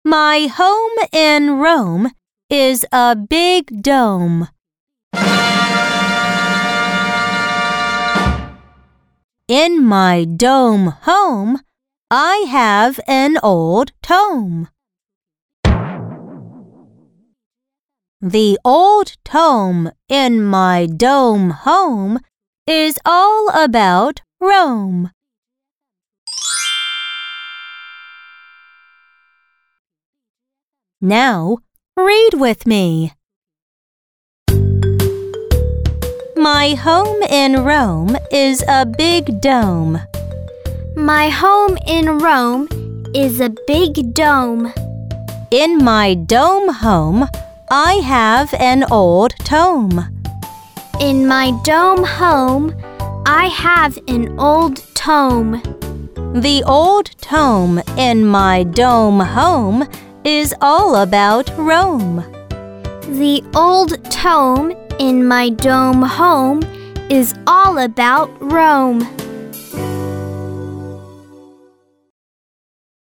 My home in Rome is a big dome. In my dome home, I have an old tome. The old tome in my dome home is all about Rome. Now, read with me. My home in Rome is a big dome. My home in Rome is a big dome. In my dome home, I have an old tome. In my dome home, I have an old tome. The old tome in my dome home is all about Rome. The old tome in my dome home is all about Rome.